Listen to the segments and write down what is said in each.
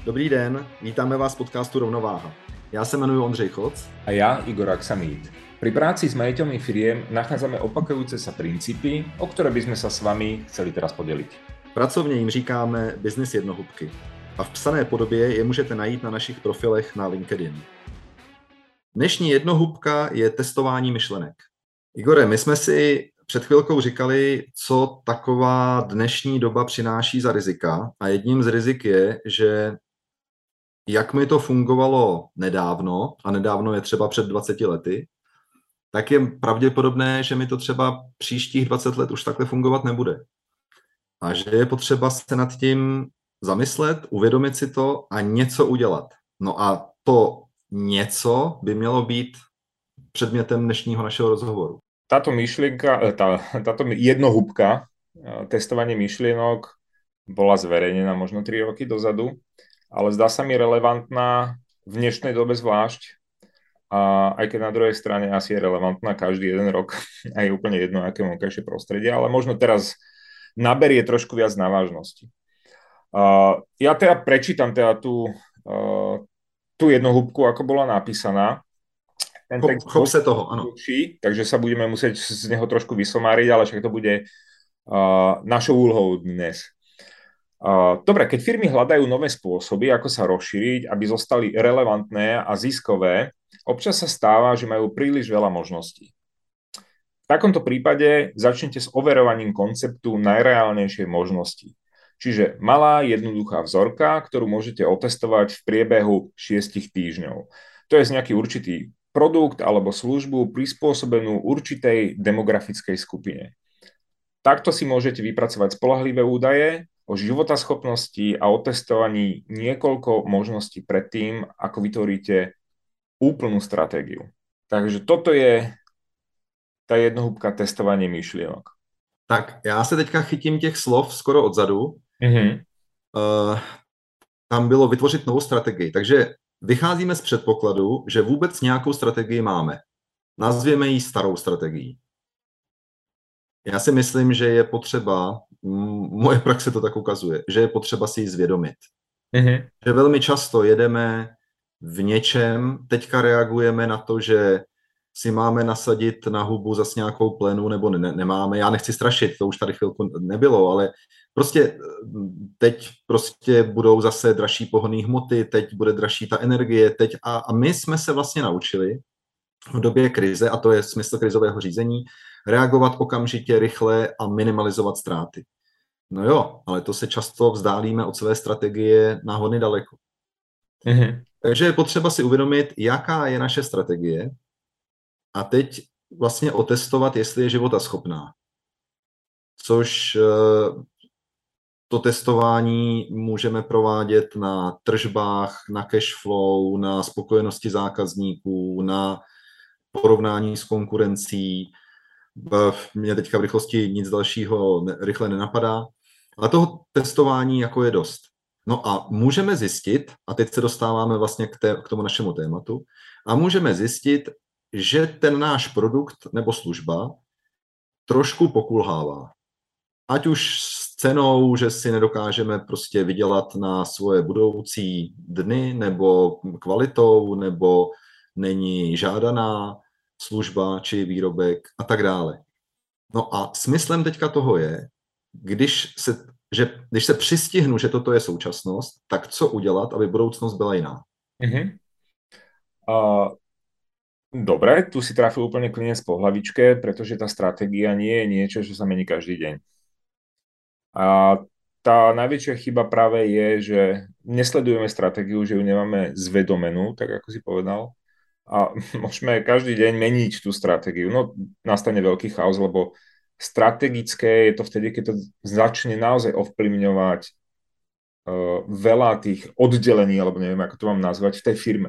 Dobrý den, vítáme vás v podcastu Rovnováha. Já se jmenuji Ondřej Choc. A ja, Igor Aksamit. Pri práci s majiteľmi firiem nachádzame opakujúce sa princípy, o ktoré by sme sa s vami chceli teraz podeliť. Pracovně jim říkáme business jednohubky a v psané podobě je můžete najít na našich profilech na LinkedIn. Dnešní jednohubka je testování myšlenek. Igore, my jsme si před chvilkou říkali, co taková dnešní doba přináší za rizika a jedním z rizik je, že jak mi to fungovalo nedávno, a nedávno je třeba před 20 lety, tak je pravděpodobné, že mi to třeba příštích 20 let už takhle fungovat nebude. A že je potřeba se nad tím zamyslet, uvědomit si to a něco udělat. No a to něco by mělo být předmětem dnešního našeho rozhovoru. Táto myšlienka, táto jednohúbka, testovanie myšlienok, bola zverejnená možno 3 roky dozadu, ale zdá sa mi relevantná v dnešnej dobe zvlášť. A aj keď na druhej strane asi je relevantná každý jeden rok a je úplne jedno, aké vonkajšie prostredie, ale možno teraz naberie trošku viac na vážnosti. Ja teda prečítam teda tú jednohúbku, ako bola napísaná. Ten text Chop se toho, ano. Takže sa budeme musieť z neho trošku vysomáriť, ale však to bude našou úlohou dnes. Dobre, keď firmy hľadajú nové spôsoby, ako sa rozšíriť, aby zostali relevantné a ziskové, občas sa stáva, že majú príliš veľa možností. V takomto prípade začnete s overovaním konceptu najreálnejšej možnosti. Čiže malá, jednoduchá vzorka, ktorú môžete otestovať v priebehu 6 týždňov. To je nejaký určitý produkt alebo službu prispôsobenú určitej demografickej skupine. Takto si môžete vypracovať spoľahlivé údaje o životaschopnosti a o testovaní niekoľko možností predtým, ako vytvoríte úplnú stratégiu. Takže toto je tá jednohúbka testovanie myšlienok. Tak, já se teďka chytím těch slov skoro odzadu. Tam bylo vytvořit novou strategii. Takže vycházíme z předpokladu, že vůbec nějakou strategii máme. Nazvěme ji starou strategií. Já si myslím, že je potřeba, moje praxe to tak ukazuje, že je potřeba si ji zvědomit. Že velmi často jedeme v něčem, teďka reagujeme na to, že si máme nasadit na hubu zas nějakou plenu, nebo nemáme. Já nechci strašit, to už tady chvilku nebylo, ale prostě teď prostě budou zase dražší pohonné hmoty, teď bude dražší ta energie, teď a my jsme se vlastně naučili v době krize, a to je smysl krizového řízení, reagovat okamžitě, rychle a minimalizovat ztráty. No jo, ale to se často vzdálíme od své strategie na hodně daleko. Takže je potřeba si uvědomit, jaká je naše strategie a teď vlastně otestovat, jestli je životaschopná. Což to testování můžeme provádět na tržbách, na cash flow, na spokojenosti zákazníků, na porovnání s konkurencí. Mně teďka v rychlosti nic dalšího rychle nenapadá, ale toho testování jako je dost. No a můžeme zjistit, a teď se dostáváme vlastně k tomu našemu tématu, a můžeme zjistit, že ten náš produkt nebo služba trošku pokulhává. Ať už s cenou, že si nedokážeme prostě vydělat na svoje budoucí dny, nebo kvalitou, nebo není žádaná služba či výrobek a tak dále. No a smyslem teďka toho je, když se přistihnu, že toto je současnost, tak co udělat, aby budoucnost byla jiná? Dobre, tu si trafil úplne klinec po hlavičke, pretože tá stratégia nie je niečo, čo sa mení každý deň. A tá najväčšia chyba práve je, že nesledujeme stratégiu, že ju nemáme zvedomenú, tak ako si povedal, a môžeme každý deň meniť tú stratégiu. No, nastane veľký chaos, lebo strategické je to vtedy, keď to začne naozaj ovplyvňovať veľa tých oddelení, alebo neviem, ako to mám nazvať, v tej firme.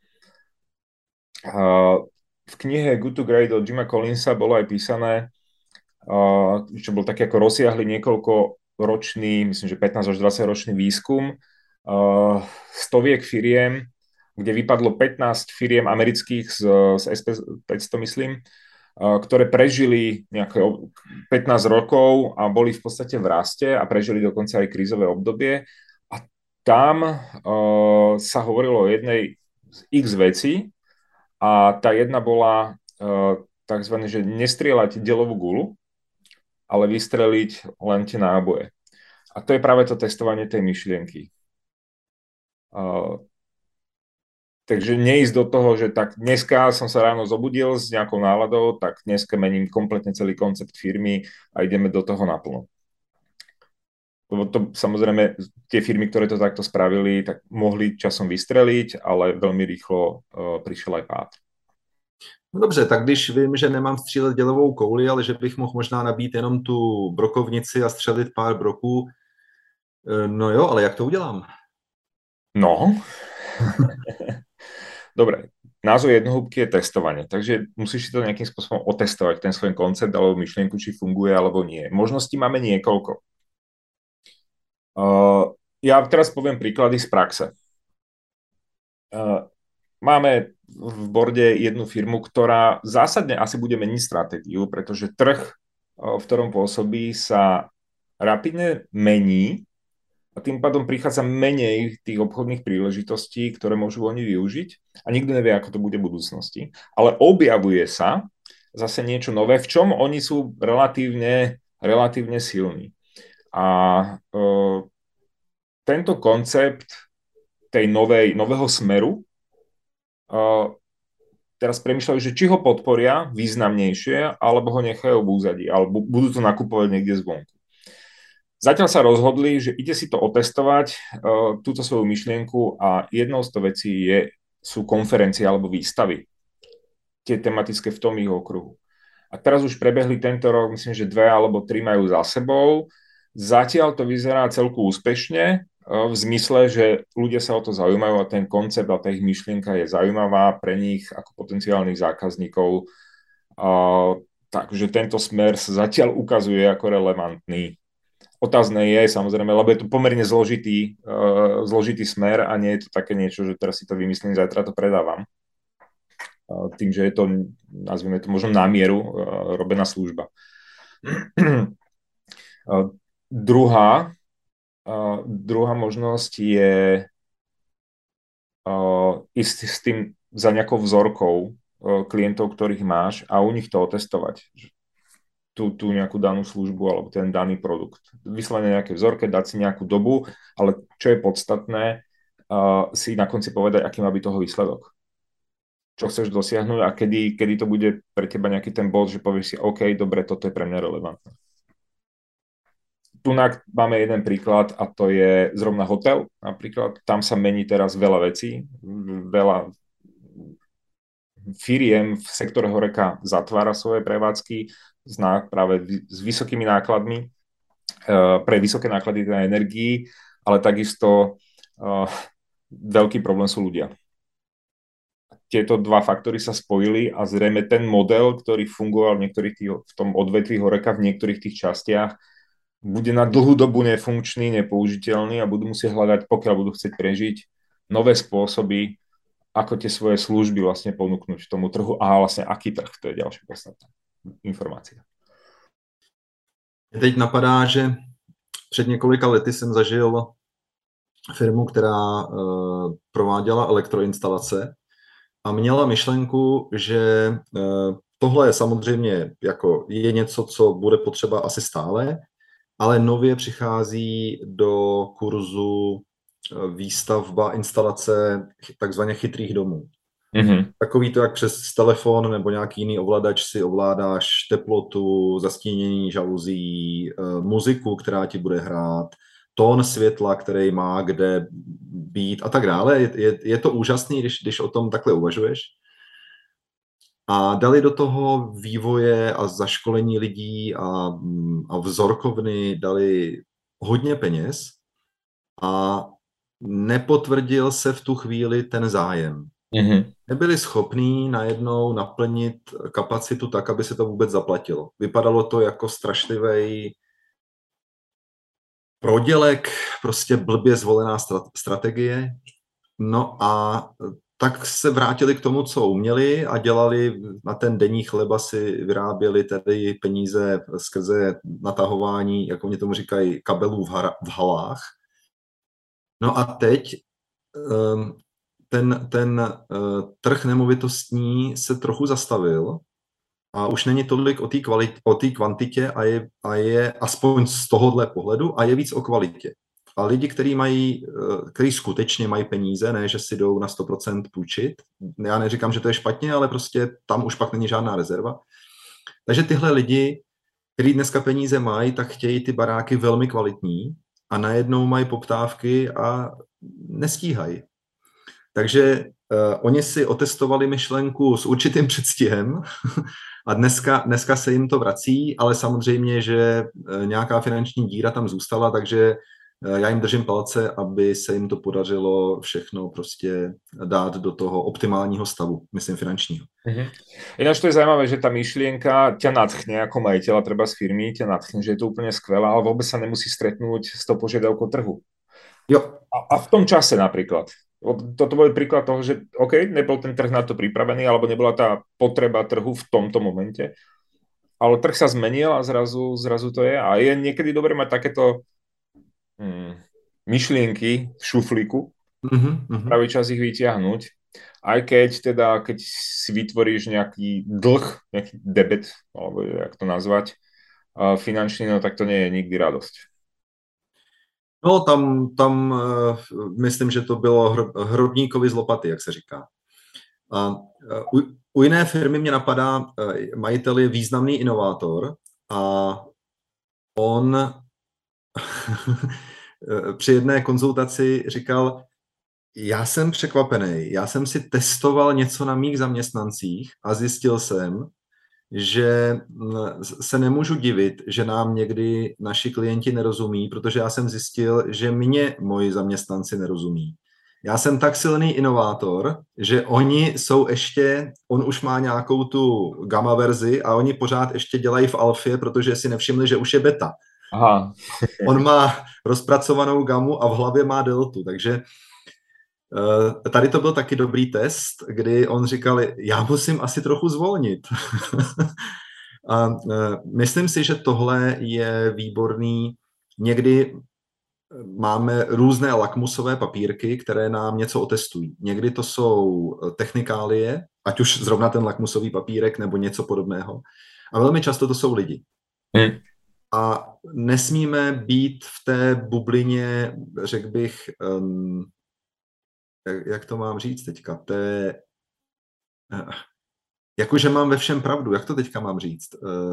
V knihe Good to Great od Jima Collinsa bolo aj písané, čo bol taký ako rozsiahly niekoľko ročný, myslím, že 15 až 20 ročný výskum stoviek firiem, kde vypadlo 15 firiem amerických z SP500, myslím, ktoré prežili nejaké 15 rokov a boli v podstate v raste a prežili dokonca aj krízové obdobie. A tam sa hovorilo o jednej z x vecí a tá jedna bola takzvané, že nestrieľať delovú gulu, ale vystreliť len tie náboje. A to je práve to testovanie tej myšlienky. Takže neísť do toho, že tak dneska som sa ráno zobudil s nejakou náladou, tak dneska mením kompletne celý koncept firmy a ideme do toho naplno. Lebo to samozrejme, tie firmy, ktoré to takto spravili, tak mohli časom vystreliť, ale veľmi rýchlo prišiel aj pád. No dobře, tak když vím, že nemám střílet dělovou kouli, ale že bych mohl možná nabít jenom tu brokovnici a střelit pár broků, no jo, ale jak to udělám? No, dobre, názov jednohúbky je testovanie, takže musíš si to nejakým spôsobom otestovať, ten svoj koncept alebo myšlienku, či funguje alebo nie. Možností máme niekoľko. Ja teraz poviem príklady z praxe. Máme v borde jednu firmu, ktorá zásadne asi bude meniť stratégiu, pretože trh, v ktorom pôsobí, sa rapidne mení a tým pádom prichádza menej tých obchodných príležitostí, ktoré môžu oni využiť a nikto nevie, ako to bude v budúcnosti. Ale objavuje sa zase niečo nové, v čom oni sú relatívne silní. A tento koncept tej nového smeru teraz premýšľajú, že či ho podporia významnejšie, alebo ho nechajú v úzadí, alebo budú to nakupovať niekde zvonku. Zatiaľ sa rozhodli, že ide si to otestovať, túto svoju myšlienku a jednou z to vecí sú konferencie alebo výstavy. Tie tematické v tom ich okruhu. A teraz už prebehli tento rok, myslím, že 2 alebo 3 majú za sebou. Zatiaľ to vyzerá celku úspešne, v zmysle, že ľudia sa o to zaujímajú a ten koncept a tá ich myšlienka je zaujímavá pre nich ako potenciálnych zákazníkov. Takže tento smer sa zatiaľ ukazuje ako relevantný. Otázne je samozrejme, lebo je to pomerne zložitý smer a nie je to také niečo, že teraz si to vymyslím, zajtra to predávam. Tým, že je to, nazvime to možno na mieru robená služba. Druhá možnosť je ísť s tým za nejakou vzorkou klientov, ktorých máš a u nich to otestovať. Tú nejakú danú službu alebo ten daný produkt. Vyslovene nejaké vzorke, dať si nejakú dobu, ale čo je podstatné, si na konci povedať, aký má byť toho výsledok. Čo chceš dosiahnuť a kedy to bude pre teba nejaký ten bod, že povieš si, OK, dobre, toto je pre mňa relevantné. Tu máme jeden príklad a to je zrovna hotel napríklad. Tam sa mení teraz veľa vecí, veľa firiem v sektore horeka zatvára svoje prevádzky práve s vysokými nákladmi, pre vysoké náklady na energii, ale takisto veľký problém sú ľudia. Tieto dva faktory sa spojili a zrejme ten model, ktorý fungoval v tom odvetví horeka v niektorých tých častiach, bude na dlhú dobu nefunkčný, nepoužiteľný a budú musieť hľadať, pokiaľ budú chcieť prežiť, nové spôsoby, ako tie svoje služby vlastne ponúknuť tomu trhu a vlastne aký trh, to je ďalšia podstatná informácia. Teď napadá, že před několika lety jsem zažil firmu, která prováděla elektroinstalace a měla myšlenku, že tohle je samozřejmě je něco, co bude potřeba asi stále, ale nově přichází do kurzu výstavba, instalace takzvaně chytrých domů. Mm-hmm. Takový to, jak přes telefon nebo nějaký jiný ovladač si ovládáš teplotu, zastínění žaluzí, muziku, která ti bude hrát, tón světla, který má kde být a tak dále. Je to úžasný, když o tom takhle uvažuješ. A dali do toho vývoje a zaškolení lidí a vzorkovny dali hodně peněz a nepotvrdil se v tu chvíli ten zájem. Mm-hmm. Nebyli schopní najednou naplnit kapacitu tak, aby se to vůbec zaplatilo. Vypadalo to jako strašlivý prodělek, prostě blbě zvolená strategie. No a tak se vrátili k tomu, co uměli a dělali na ten denní chleba, si vyráběli tedy peníze skrze natahování, jak oni tomu říkají, kabelů v halách. No a teď ten trh nemovitostní se trochu zastavil a už není tolik o té kvantitě a je aspoň z tohohle pohledu a je víc o kvalitě. A lidi, kteří skutečně mají peníze, ne, že si jdou na 100% půjčit, já neříkám, že to je špatně, ale prostě tam už pak není žádná rezerva. Takže tyhle lidi, kteří dneska peníze mají, tak chtějí ty baráky velmi kvalitní a najednou mají poptávky a nestíhají. Takže oni si otestovali myšlenku s určitým předstihem a dneska se jim to vrací, ale samozřejmě, že nějaká finanční díra tam zůstala, takže já jim držím palce, aby se jim to podařilo všechno prostě dát do toho optimálního stavu, myslím finančního. Ináč to je zaujímavé, že tá myšlienka ťa nadchne ako majiteľa treba z firmy, ťa nadchne, že je to úplne skvelé, ale vôbec sa nemusí stretnúť s tou požiadavkou trhu. Jo. A v tom čase napríklad. Toto bol príklad toho, že OK, nebol ten trh na to pripravený, alebo nebola tá potreba trhu v tomto momente, ale trh sa zmenil a zrazu to je. A je niekedy dobre mať takéto myšlienky v šuflíku, pravý čas ich vyťahnuť, aj keď si vytvoríš nejaký dlh, nejaký debet, alebo jak to nazvať, finančný, no tak to nie je nikdy radosť. No, tam myslím, že to bylo hrobníkovi z lopaty, jak se říká. A u jiné firmy mě napadá, majitel je významný inovátor a on při jedné konzultaci říkal, já jsem překvapený, já jsem si testoval něco na mých zaměstnancích a zjistil jsem, že se nemůžu divit, že nám někdy naši klienti nerozumí, protože já jsem zjistil, že mě moji zaměstnanci nerozumí. Já jsem tak silný inovátor, že on už má nějakou tu gamma verzi a oni pořád ještě dělají v alfě, protože si nevšimli, že už je beta. Aha. On má rozpracovanou gamu a v hlavě má deltu, takže tady to byl taky dobrý test, kdy on říkal, já musím asi trochu zvolnit. A myslím si, že tohle je výborný. Někdy máme různé lakmusové papírky, které nám něco otestují. Někdy to jsou technikálie, ať už zrovna ten lakmusový papírek nebo něco podobného. A velmi často to jsou lidi. A nesmíme být v té bublině, řekl bych, jak to mám říct teďka, jakože mám ve všem pravdu, jak to teďka mám říct?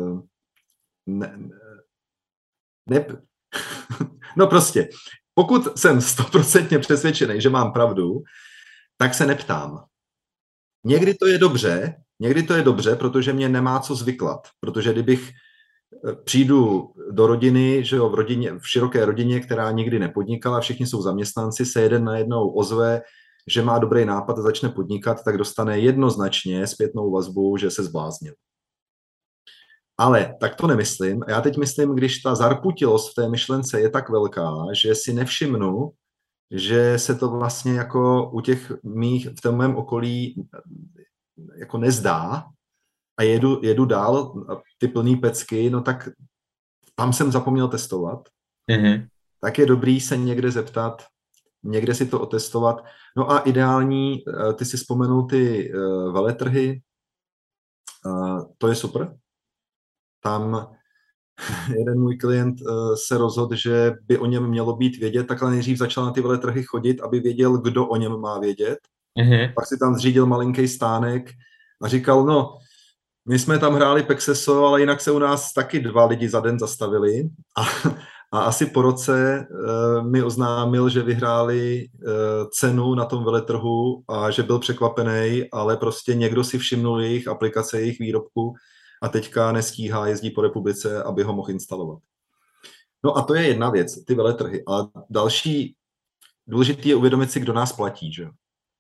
No prostě, pokud jsem 100% přesvědčený, že mám pravdu, tak se neptám. Někdy to je dobře, protože mě nemá co zvyklat, protože kdybych přijdu do rodiny, že jo, v široké rodině, která nikdy nepodnikala, všichni jsou zaměstnanci, se jeden najednou ozve, že má dobrý nápad a začne podnikat, tak dostane jednoznačně zpětnou vazbu, že se zbláznil. Ale tak to nemyslím. Já teď myslím, když ta zarputilost v té myšlence je tak velká, že si nevšimnu, že se to vlastně jako u těch mých v tom mém okolí jako nezdá a jedu dál ty plný pecky, no tak tam jsem zapomněl testovat. Tak je dobrý se někde zeptat, někde si to otestovat. No a ideální, ty si vzpomenul ty veletrhy, to je super. Tam jeden můj klient se rozhodl, že by o něm mělo být vědět, takhle nejdřív začal na ty veletrhy chodit, aby věděl, kdo o něm má vědět. Pak si tam zřídil malinký stánek a říkal, no, my jsme tam hráli Pexeso, ale jinak se u nás taky 2 lidi za den zastavili a asi po roce mi oznámil, že vyhráli cenu na tom veletrhu a že byl překvapený, ale prostě někdo si všimnul jejich aplikace, jejich výrobku a teďka nestíhá, jezdí po republice, aby ho mohl instalovat. No a to je jedna věc, ty veletrhy. A další důležitý je uvědomit si, kdo nás platí, že?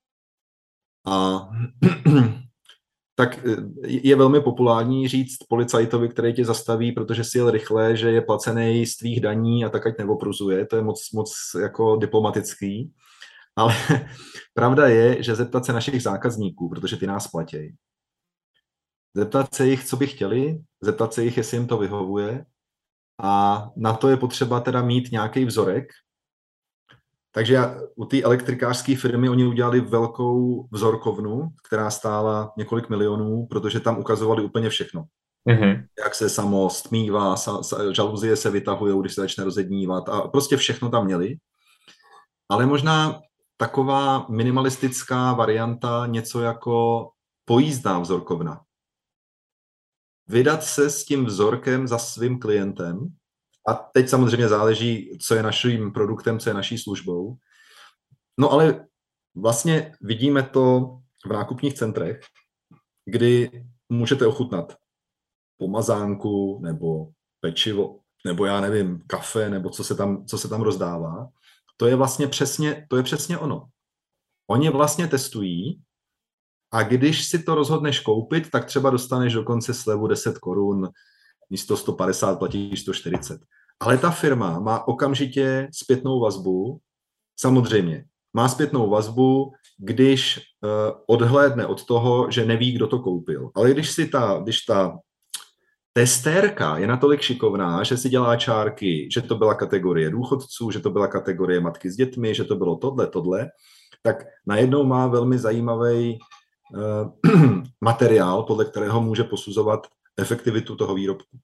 A tak je velmi populární říct policajtovi, který tě zastaví, protože si jel rychle, že je placený z tvých daní a tak ať neopruzuje. To je moc jako diplomatický. Ale pravda je, že zeptat se našich zákazníků, protože ty nás platí. Zeptat se jich, co by chtěli, zeptat se jich, jestli jim to vyhovuje. A na to je potřeba teda mít nějaký vzorek. Takže u té elektrikářské firmy oni udělali velkou vzorkovnu, která stála několik milionů, protože tam ukazovali úplně všechno. Mm-hmm. Jak se samo stmívá, žaluzie se vytahují, když se začne rozednívat a prostě všechno tam měli. Ale možná taková minimalistická varianta, něco jako pojízdná vzorkovna. Vydat se s tím vzorkem za svým klientem, a teď samozřejmě záleží, co je naším produktem, co je naší službou. No ale vlastně vidíme to v nákupních centrech, kdy můžete ochutnat pomazánku nebo pečivo, nebo já nevím, kafe, nebo co se tam rozdává. To je vlastně přesně ono. Oni vlastně testují a když si to rozhodneš koupit, tak třeba dostaneš dokonce slevu 10 korun, místo 150 platíš 140. Ale ta firma má okamžitě zpětnou vazbu, samozřejmě, má zpětnou vazbu, když odhlédne od toho, že neví, kdo to koupil. Ale když ta testérka je natolik šikovná, že si dělá čárky, že to byla kategorie důchodců, že to byla kategorie matky s dětmi, že to bylo tohle, tak najednou má velmi zajímavý materiál, podle kterého může posuzovat efektivitu toho výrobku.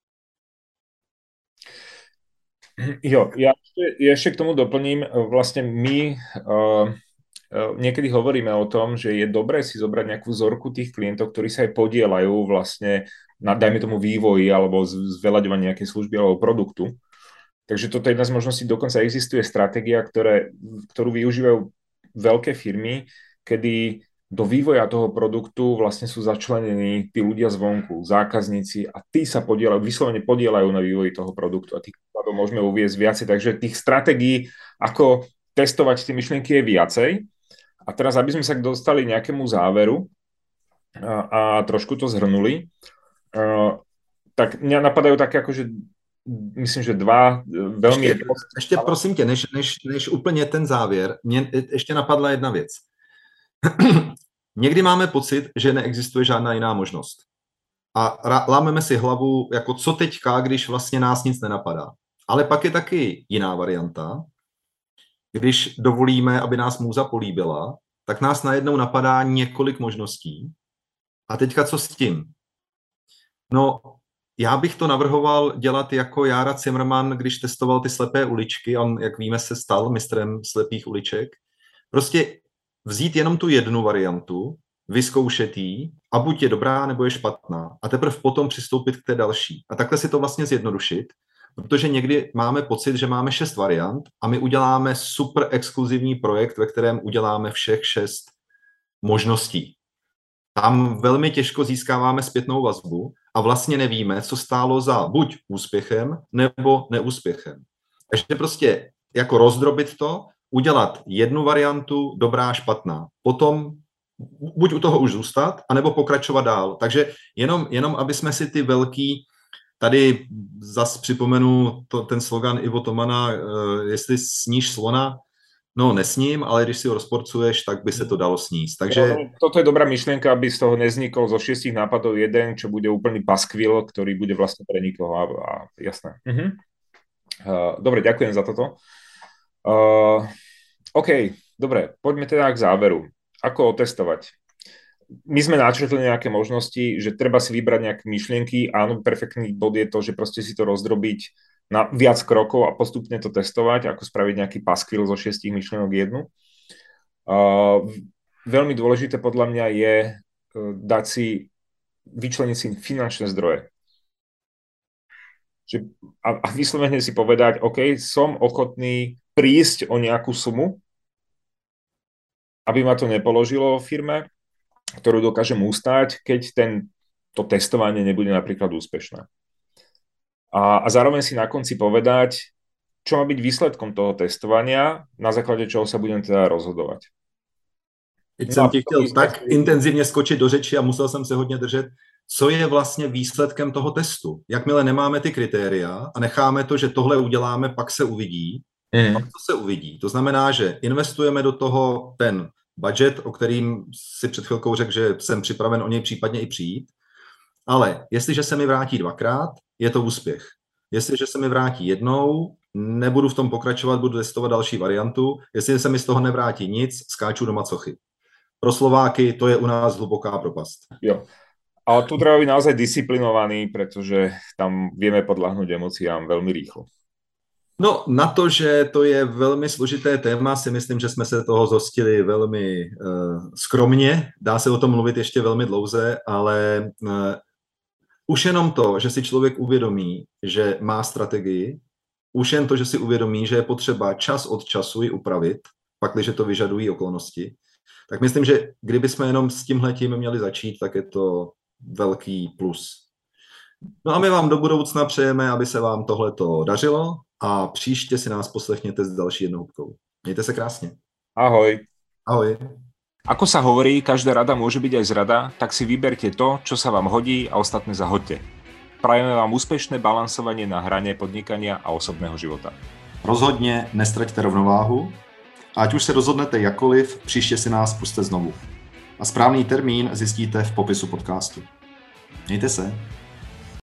Jo, ja ešte k tomu doplním, vlastne my niekedy hovoríme o tom, že je dobré si zobrať nejakú vzorku tých klientov, ktorí sa aj podielajú vlastne na, dajme tomu, vývoji alebo zveľaďovaní nejakej služby alebo produktu. Takže toto je jedna z možností, dokonca existuje stratégia, ktorú využívajú veľké firmy, kedy do vývoja toho produktu vlastne sú začlenení tí ľudia zvonku, zákazníci, a tí sa vyslovene podielajú na vývoji toho produktu a tých príkladov môžeme uviesť viacej. Takže tých stratégií, ako testovať tie myšlienky, je viacej. A teraz, aby sme sa dostali nejakému záveru a trošku to zhrnuli, tak mňa napadajú také akože, myslím, že dva veľmi... Ještě prosím tě, než úplně ten závěr, mě ještě napadla jedna věc. Někdy máme pocit, že neexistuje žádná jiná možnost. A lámeme si hlavu, jako co teďka, když vlastně nás nic nenapadá. Ale pak je taky jiná varianta. Když dovolíme, aby nás můza políbila, tak nás najednou napadá několik možností. A teďka co s tím? No, já bych to navrhoval dělat jako Jára Cimrman, když testoval ty slepé uličky. On, jak víme, se stal mistrem slepých uliček. Prostě vzít jenom tu jednu variantu, vyzkoušet ji a buď je dobrá, nebo je špatná. A teprve potom přistoupit k té další. A takhle si to vlastně zjednodušit, protože někdy máme pocit, že máme 6 variant a my uděláme super exkluzivní projekt, ve kterém uděláme všech 6 možností. Tam velmi těžko získáváme zpětnou vazbu a vlastně nevíme, co stálo za buď úspěchem, nebo neúspěchem. Takže prostě jako rozdrobit to, udělat jednu variantu, dobrá, špatná. Potom buď u toho už zůstat, anebo pokračovat dál. Takže jenom aby jsme si ty velký, tady zas připomenu ten slogan Ivo Tomana, jestli sníš slona, no nesním, ale když si ho rozporcuješ, tak by se to dalo sníst. Takže... No, toto je dobrá myšlienka, aby z toho neznikol zo 6 nápadov jeden, čo bude úplný paskvil, ktorý bude vlastne pre nikoho. A jasné. Dobre, ďakujem za toto. OK, dobre, poďme teda k záveru. Ako otestovať? My sme načrtli nejaké možnosti, že treba si vybrať nejaké myšlienky. Áno, perfektný bod je to, že proste si to rozdrobiť na viac krokov a postupne to testovať, ako spraviť nejaký paskvil zo 6 myšlienok jednu. Veľmi dôležité podľa mňa je dať si, vyčleniť si finančné zdroje. A vyslovene si povedať, OK, som ochotný prísť o nejakú sumu, aby ma to nepoložilo vo firme, ktorú dokážem ustáť, keď to testovanie nebude napríklad úspešné. A zároveň si na konci povedať, čo má byť výsledkom toho testovania, na základe čoho sa budem teda rozhodovať. Teď jsem ti chtěl tak intenzivně skočit do řeči a musel jsem se hodně držet, co je vlastně výsledkem toho testu. Jakmile nemáme ty kritéria a necháme to, že tohle uděláme, pak se uvidí, pak to se uvidí. To znamená, že investujeme do toho ten budget, o kterým si před chvilkou řekl, že jsem připraven o něj případně i přijít, ale jestliže se mi vrátí 2krát, je to úspěch. Jestliže se mi vrátí jednou, nebudu v tom pokračovat, budu testovat další variantu. Jestli se mi z toho nevrátí nic, skáču do macochy. Pro Slováky to je u nás hluboká propast. Jo. Ale tu treba byť naozaj disciplinovaný, pretože tam vieme podľahnúť emóciám veľmi rýchlo. No, na to, že to je velmi složité téma, si myslím, že jsme se toho zhostili velmi skromně. Dá se o tom mluvit ještě velmi dlouze, ale už jenom to, že si člověk uvědomí, že má strategii, už jen to, že si uvědomí, že je potřeba čas od času ji upravit, pakliže to vyžadují okolnosti, tak myslím, že kdyby jsme jenom s tímhletím měli začít, tak je to velký plus. No a my vám do budoucna přejeme, aby se vám tohleto dařilo a příště si nás poslechněte s další jednohubkou. Mějte se krásně. Ahoj. Ahoj. Ako sa hovorí, každá rada môže byť aj zrada, tak si vyberte to, čo sa vám hodí a ostatné zahoďte. Prajeme vám úspešné balansovanie na hrane podnikania a osobného života. Rozhodně nestraťte rovnováhu, ať už se rozhodnete jakkoliv, příště si nás pusťte znovu. A správný termín zjistíte v popisu podcastu. Mějte se.